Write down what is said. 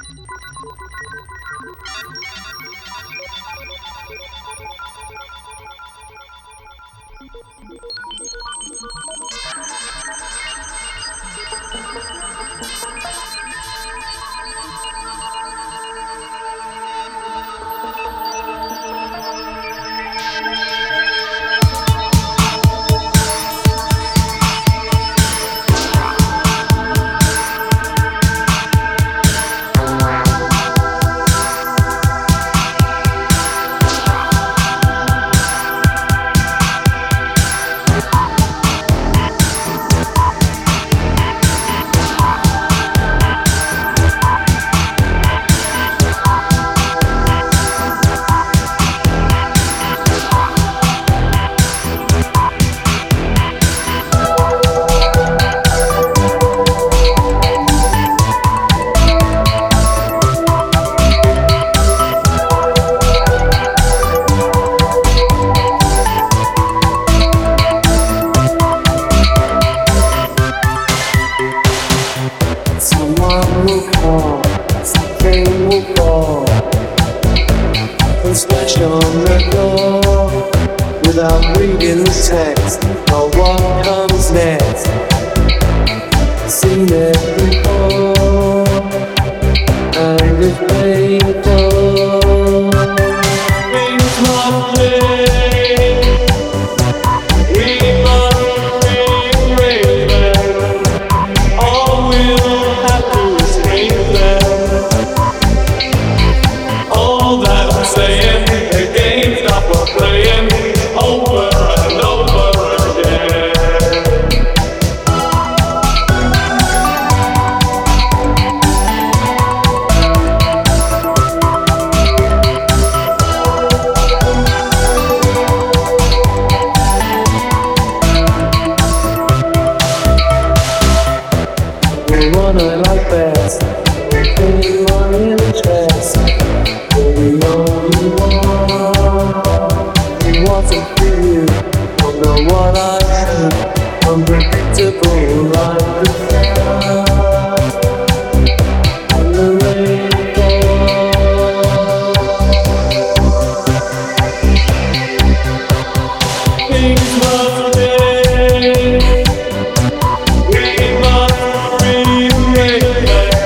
Someone will call, something will fall and smash on the door without reading the text or what comes next. Seen it before and it's painful. It's lovely. One I like best, in my interest, you're the only one. It wasn't for you, don't know what I should. Unpredictable like the sky and the rainfall. Things must change. We must breathe.